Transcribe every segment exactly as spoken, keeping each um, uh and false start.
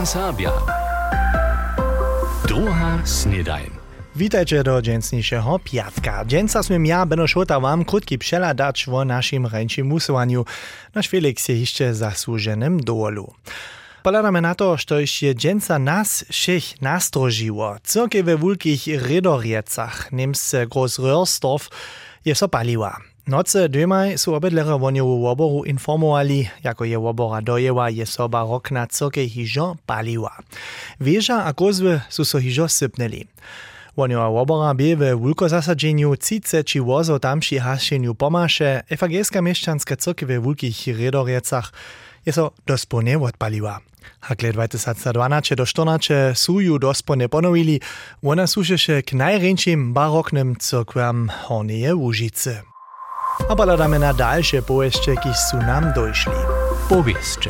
Serbia. Druga snedajn. Witajcie do dżęsniejszego piatka. Dżęsa smiem ja, Beno Šota, wam krótki przeladacz o naszym ręczym musowaniu. Nasz Felix je jeszcze zasłużonym dolu. Poladamy na to, że je dżęsa nas všech nastrožiło. Cyrke we wulkich redoriecach, niemce Groß Röhrsdorf, je so paliła. Noce dymaj su obydlere woniovu woboru informovali, jako je wobora dojewa, je soba rok na cyrke hižo paliła. Wieża a kozwy su so hižo sypneli. Woniowa wobora bie we wulkozasadzeniu cice či wozo tamši hašenju pomaše, ewangelska mieszczanska cyrke we wulkich redoriecach je so dospone odpaliła. Hakle dwa tysiące dwanaście do czternaście su ju dospone ponovili, ona służyše k najręczym baroknym cyrkwam Hornieje Łužice. A poladamy na dalsze powieście, kiż su nam dojszli. Powieście.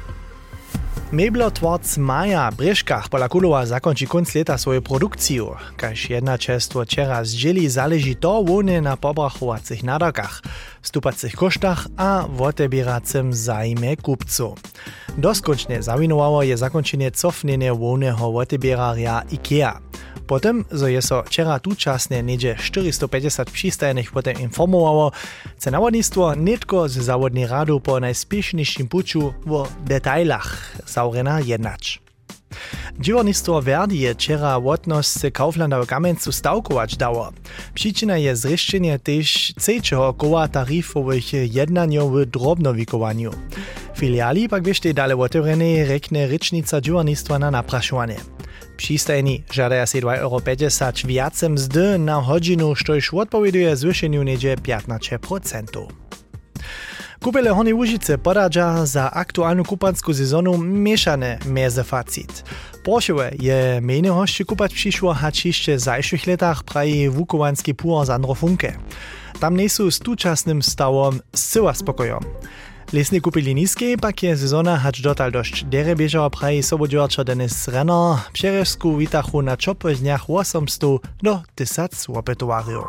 Meblotworc Maja Breškach pola Kulowa zakonči konc leta svoju produkciju. Kaž jednačestvo čera zdjeli zaleži to wone na pobrachowacych nadarkach, stupacych koštach a wotebieracym zajme kupców. Doskončne zawinowało je zakončenie cofnenie woneho wotebierarja IKEA. Potem, zo je so čera tučasne niedzie czterysta pięćdziesiąt przystajenych potem informowało, chce nawodnictwo netko z zawodnej radu po najspieszniejszym puczu o detailach zaurena jednać. Dziewnictwo Verdi je čera wotnost Kauflanda w Kamencu stawkować dało. Przyczyna je zreszczenie też trzeciego koła taryfowych jednaniów w drobnowikowaniu. Filiali pak jeszcze dalej otevrenej rekne rycznica dziewnictwa na napraszowanie. Přistajeni žadaja si dwa euro pięćdziesiąt viace mzdy na hodinu, štož odpowieduje zwyšeniu niedzie piętnaście procent. Kupele Hornej Łužice podadža za aktualnu kupansku sezonu mieszane meze facit. Porsche je mene hošće kupać přišło, hač ještě w zajších letach praji wukovanski puar Sandro Funke. Tam nejsu s tučasnym stawom zcyła spokojom. Lesne kupili niskiej, pak je sezona hač dotal dość derebiežała praji sobodźorčo Denis Renner, Přerežsku witachu na čopych dniach osiemset do tysiąc opetowarjów.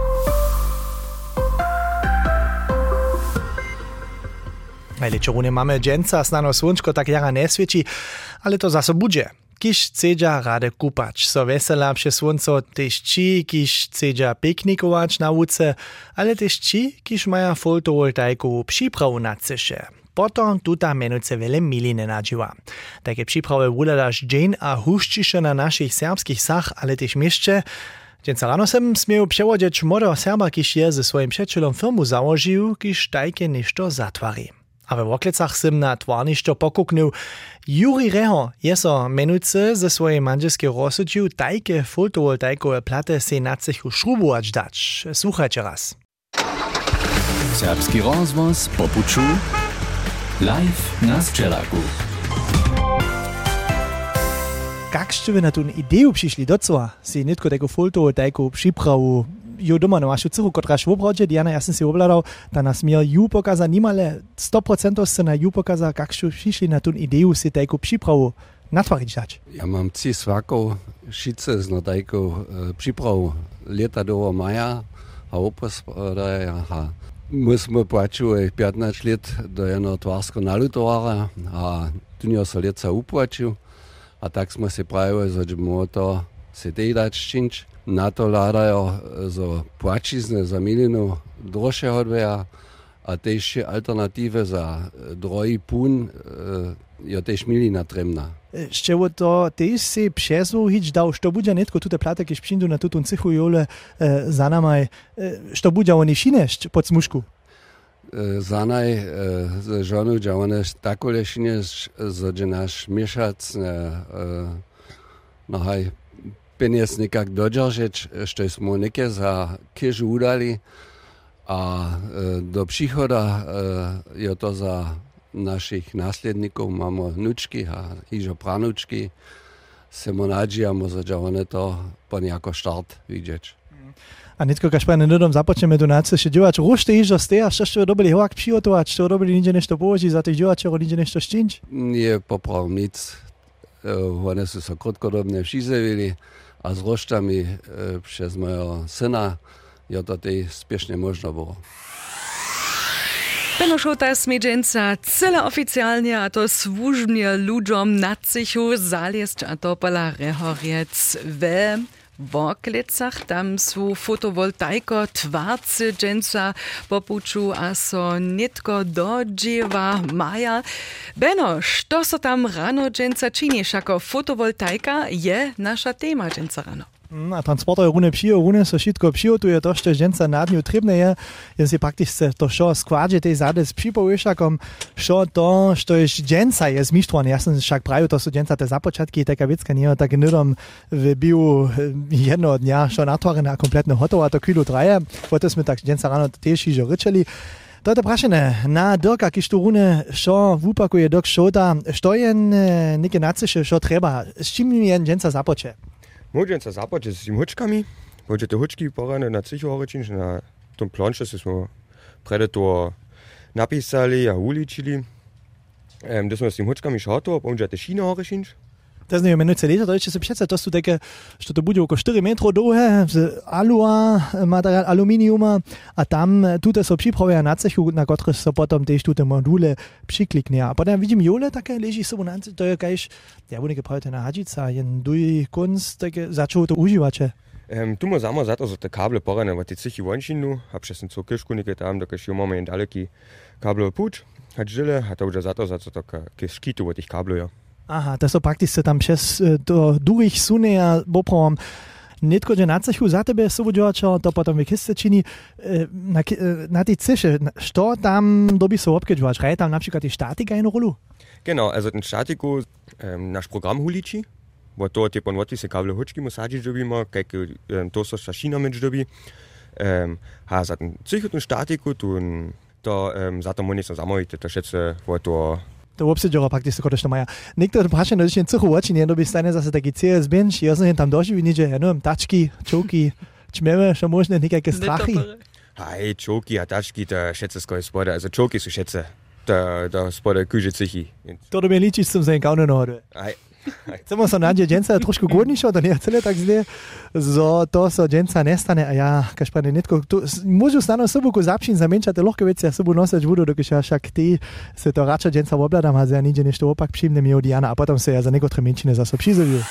Ale čorune mamy dżęca, snano słončko tak jara ne svieci, ale to zase budže. Kiž chcedža rade kupać, so vesela przy słonco, tež ci, kiž chcedža piknikować na łuce, ale tež ci, kiž maja fotovoltaikovú přípravu na ceše. Potom tuta menuce vele mili nenadživa. Takie příprawy wuladaš dżeń a huščiše na našich serbskich sach, ale tež mieszcze. Dżęca rano sem smieł przewodzieć młodego Serba, kiž je ze swoim przyjacielom firmu założył, kiž tajke nešto zatwari. A we Woklecach sem na twarništo pokuknul. Juri Reho je so menujce ze swojej manželskiej rozsudžił tajke fotovoltaikowe plate se na cechu šrubować dać. Słuchajcie raz. Serbski rozvoz po puču. Live na Sčelaku. Jak ste wy na tą ideju przyszli do co? Si nitko taką fotovoltaikovú přípravu ju doma na vašu cichu, kotraž v obrodže, Diana, ja som si obladal, da nas mir ju pokaza, nimale sto procent se na ju pokaza, jak ste přišli na tú ideju si tajku přípravu natvariť dať. Ja mám ci svakov šice z tajku e, přípravu leta do maja a opospodaja a my sme plačili pätnásť let do jedného tvarského nalutovara a tu nie sa leca uplačil a tak sme si pravili, že môžeme to si tej dať činč. Na to ládajú zo płačizne za milinu drožšie hodveja a tež alternatíve za drojí pún je tež milina tremná. Ešte to tež si přezvúhiť dal, što bude netko tute plate, keď přijdu na tutun cichu jole e, za namaj, e, što bude oni šinešť pod smušku? E, za naj e, z žonu, že one takole šinešť, že náš miešac e, no haj, peniaz nekak dodržeć, što smo neke za kežu udali a e, do příchoda e, je to za našich následníkov, máme vnučky a hižo pranučky, se mu nadžijamo, že one to po nejako štart vidieť. A netko, kaž pa nedodom započneme tu náce, že diváč rušte hižo ste a što dobili hovak přihotovať, što dobili niče nešto połožiť za tých diváčerov, niče nešto štinč? Nie poprav nic, e, one sú sa krotkodobne všizevili, a z roštami e, przez mojego syna je to tej spiesznie można było. Benno Šota smedženca cele oficjalnie, a to służbnie ludziom na cichu zalieść, a to pola rehoriec we w oklicach. Tam są fotowoltaiko twarcy dżęca popuczu, a so nitko do dziewa maja. Benno, što so tam rano dżęca činiš, ako fotowoltaika je nasza tema dżęca rano? A transporter rune pšijo, rune so šitko přijotuje to, što ženca na dnju trebne je, jen si praktičce to šo składže tej zade s připovišakom, šo to, što je ženca je zmištrovane. Ja sam však pravil, to su ženca te započatki, teka vicka nije tak nidom v biu jedno dnja, šo natvorene a kompletno hotovo, a to kvilu traje. Potem sme tak ženca rano tež ižo ryčeli. To je prašene na Dirka, kiž tu rune šo vupakuje Dirk Šota, što je neke naciše, šo treba, s čim je ženca započe? Môžem sa započať s tým hučkami. Môžem tie hučky porane na cichu horečinč, na tom planše sme predator napísali a uličili. Um, da sme s tým hučkami šato, pomôžem tie šíne horečinč. To je menujúce leta, to ešte si přece, to sú také, što to bude oko štyri metrov dlhé, z alua, materiál aluminiuma a tam tuto so připravia na cechu, na ktoré sa potom tiež tuto module přiklikne. A potom vidím jole také leží sobu na to je kajž, ja budem gepravite na hadžica, jen duj kunst, také začalo to užívače. Um, tu ma samo zato, že te kable porane v tej cichy vončinu, a přesne co kiškunike tam, da kaž jo máme jen daleký kablov púč, a žile, a to už zato, zato také škitu v tých kabloch. Aha, to so praktične tam přes do durich sunie a bopravom nitko, že na cechu za tebe sobuďovačo, to potom v kiste čini na, na tej ciše, što tam doby so obkedžovač? Hraje tam napríklad i statika jednu rolu? Genau, also ten statiku um, naš program huliči, bo to je pon voti se kable hučki mu sadžič dobimo, kajke um, to so šašina meč dobi. Um, ha, za ten cichu ten statiku, tun, to um, za to mu nisam zamovite, to šece vo to to obsedžora praktično kodešto maja. Niekto praše na dnešnej cichu oči, nie doby stane zase taký C S bench, ja som tam doživí, že ja neviem, tačky, čoky, čmeme, čo možné, nejaké strachy. Hej, čoky a tačky, to šece skoj spode, also čoky sú šece, to, to spode kúže cichy. To do mnie ličiť som sa jen kaune nohode. Hej. Chcemo sa nádje dženca trošku godnejšo, to nie je celé tak zle, zo to so dženca nestane a ja, kaž prane netko, môžu stano sobuku zapšín za menšate ľahké veci a sobu nosať budú, dokiaľ ja však ty se to radšej dženca obladám a ja nič než to opak přijmne mi od Jana a potom sa ja za nekotre menšine zase přizoviu.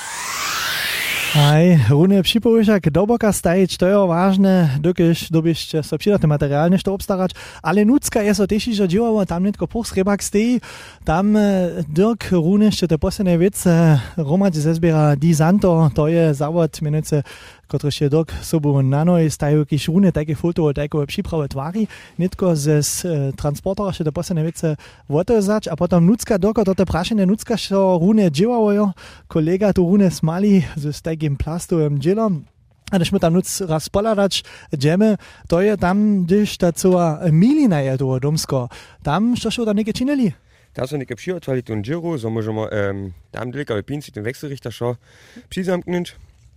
Aj, rune připovišak do boka stajiť, to je vážne, dokiaľ dobište so přidatné materiálne to obstarať, ale nucka je so tež ižo dživavo, tam netko pochsrebak stejí, tam Dirk rune ešte to posledné vece, Romad zezbiera Di Santo, to je závod, menujúce, kotrež je Dirk sobu na noj stajú, kiž rune také fotovoltaikové připrave tvári, netko ze transportora ešte to posledné vece votozať a potom nucka Dirko, toto prašené nucka, čo rune dživavo, kolega tu rune smali, ze takým plastovým džilom. A když my tam nuc raz poladać džeme, to je tam, když ta celá milina je toho domsko. Tam, što šo tam neke činili? Tam so neke přihotvali ten džiru, so môžemo um, tam delika v pinci ten wechselrichter šo přizamknúť.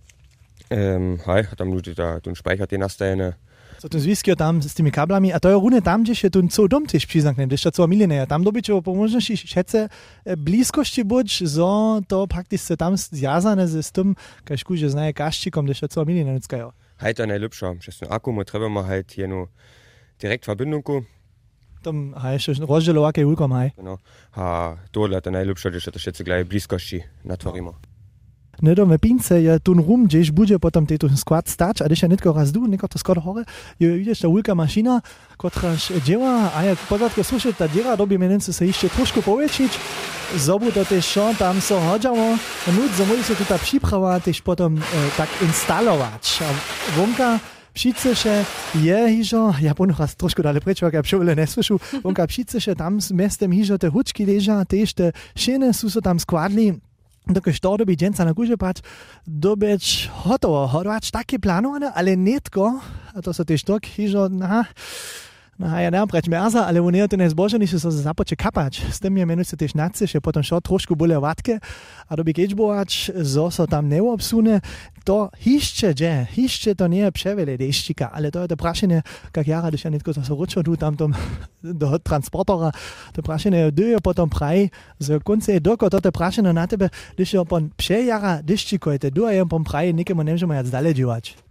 Um, hej, a tam ľudí ten speicher tie nastajene. So ten zwiskio tam s tymi kablami, a to je rune tam, gdzie się ten co dom też przyzamknę, gdzieś to co milina je. Tam dobyć o pomożności szece bliskości być, zo to praktycznie tam zjazane z tym, każ kuże znaje kaszczykom, gdzieś to co milina nuckają. Hej, to je najlepsze. Przez ten akku my trebujemy halt jenu direkt Verbindunku. Tam hej, jeszcze rozdzielowake ulkom, hej. Genau. A to je to najlepsze, gdzieś to szece gleich bliskości natworimy. Nedom v pince je tun rum, gdzieś bude potom tejto skład stać, a když je netko raz du, neko to skoro hore, je vidíš ta ulka mašina, kotraž działa, a jak podatke slušať, ta diera dobi menence se ešte trošku poväčšiť, zobu to tež šo, tam so hodžamo, nut, so môže sa tu ta připrava tež potom e, tak instalować. A vonka Přiceše je hižo, ja ponu raz trošku dale prečo, ak ja přovele neslyšu, vonka přiceše tam s mestem hižo te hučky leža, tež te šene sú so tam składli, dokiaľ to doby dženca na gúže pať, dobeč hotovo, hodovač také plánované, ale netko, a to sa tiež tak, hižo, na, na, ja neviem preč merza, ale on je to nezbožený, že sa započe kapať. S tým je menujúce tiež naciš, potom šo trošku boli vatke, a doby keďbovač, zo sa tam neobsune, to hišče, že, hišče to nie je převele deščika, ale to je to prašenie, kak jara, když ja netko to sa ručo tu tam tom do transportora, to prašenie je potom praj, z konce je doko toto prašenie na tebe, když je pon přejara deščikojte, du je pon praj, nikemu nemžemo jac dalej dživať.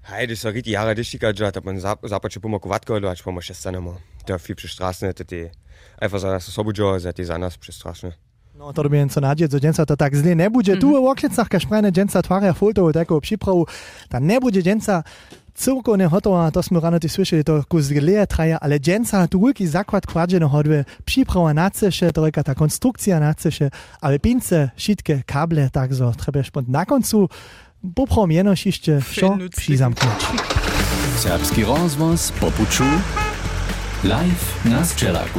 Hej, det er så rigtig jara, det stikker jo, at man zapače po moku vatko, eller po moku šestanemo. Det er fi prestrašne, to je einfach za nas osobuđo, za ti za nas prestrašne. No, to dobijem co nadzieć, że dżęca to tak zle nie będzie. Tu w oklicach, każ prajne dżęca twarja foltowo taką przyprawu, ta nie będzie dżęca całko nie hotowa, to smo rano ty słyszeli, to kus gleje traja, ale dżęca tu wielki zakład kładzie na hodwe, przyprawa na cesze, to jaka ta konstrukcja na cesze, ale pince, sitke, kable, tak zo, trzeba szpont na końcu, poprom jeno jeszcze, co przyzamknąć. Serbski rozvoz po puču, live na Sčelaku.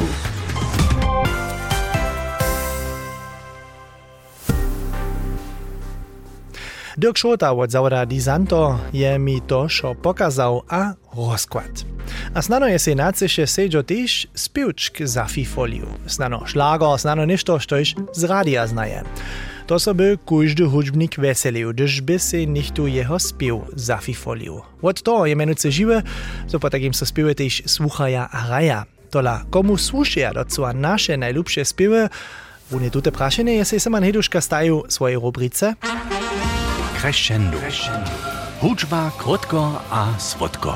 Dirk Schota od Zawada Disanto je mi to šo pokazał a rozkład. A snano je se naceše seđo tež spivčk za fifoliu. Snano šlager, snano nešto, štož z radia znaje. To so by kujždy hudžbnik veselił, gdyż by se nichtu jeho spiv za fifoliu. Od to je menuce žiwe, so po takim so spive tež słuchaja a raja. Tola, komu słušaja docua naše najlubše spive, vune tute prašene je se Seman Heduška staju svoje rubrice Crescendo. Hudžba krótko a słodko.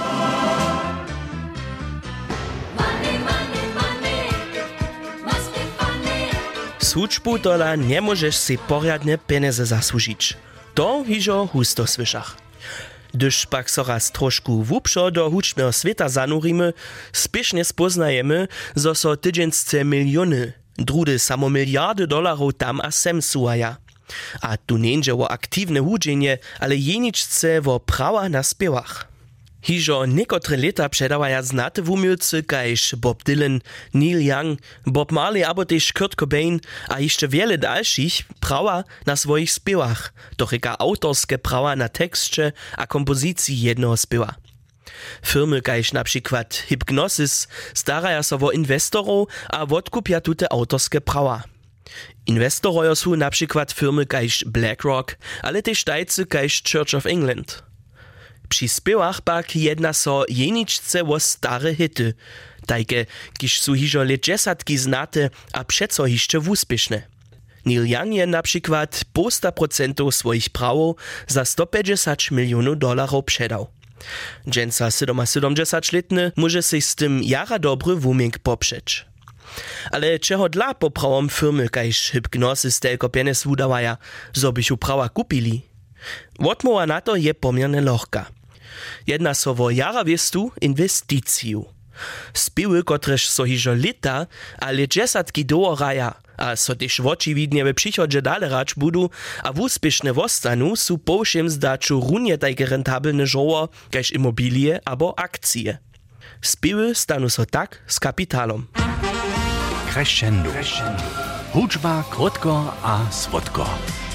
Z hudžbu tola nie możesz si poriadne pieniądze zasłużyć. To hižo husto słyszach. Gdyż pak so raz troszku wupszo do hudžbneho sveta zanurimy, spiesznie spoznajemy, zo so tydziensce miliony, drudy samo miliardy dolarów tam a sem suaja. A tu nie o aktywne hudźenie, ale jeniczce o prawa na spiewach. Hižo niekotre leta przedawaja znate wumiłcy kajż Bob Dylan, Neil Young, Bob Marley abo też Kurt Cobain, a jeszcze wiele dalszych prawa na swoich spiewach, doch eka autorskie prawa na tekście a kompozycji jednego spiewa. Firmy kajż na przykład Hypnosis staraja so o inwestorów a odkupia tute autorskie prawa. Inwestorojo su na przykład firmy kajż BlackRock, ale też tajcy kajż Church of England. Przy spiewach pak jedna so jeniczce o stare hity, tajke, kiż su hižo let dziesiątki znate, a przeco hiszcze wuspieszne. Neil Young je na przykład posta procentów swoich prawów za sto pięćdziesiąt milionów dolarów przedał. Dżęca siedemdziesiątletny może się z tym jara dobry wumink poprzeć. Ale czego dla poprawom firmy kajż Hypnosis telko pieniędz wudawaja, zo bychu prawa kupili? Odmowa na to je pomierne lohka. Jedna so wo jara wiestu inwesticiju. Spiewy, kotreż so hižo lita, ale dziesiątki dołaraja, a so też očividnie we przychodzie dalej rać budu, a wuspieszne wostanu su po všem zdaču runie tajke rentabilne żoło, kajż immobilie abo akcje. Spiewy stanu so tak z kapitalom. Crescendo. Hudžba krótko a słodko.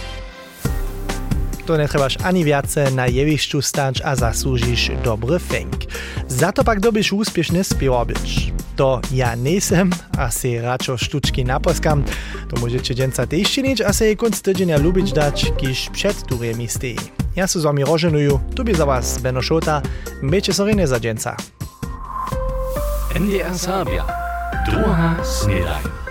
To nie trebaš ani viace na jevišću stać a zasłužiš dobry fęk. Za to pak dobiš úspiešne spiewa być. To ja nesem a se račo štučki naposkam. To môžete dženca tež činiť a se jej konc tydzenia lubić dać, kiž před turjemi stejí. Ja su z wami roženuju, tu by za was Benno Schota, bejte sorine za dženca. N D R Serbia. Druga snedaj.